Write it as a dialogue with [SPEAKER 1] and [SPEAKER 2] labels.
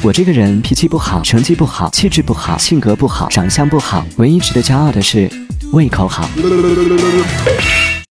[SPEAKER 1] 我这个人脾气不好，成绩不好，气质不好，性格不好，长相不好，唯一值得骄傲的是胃口好。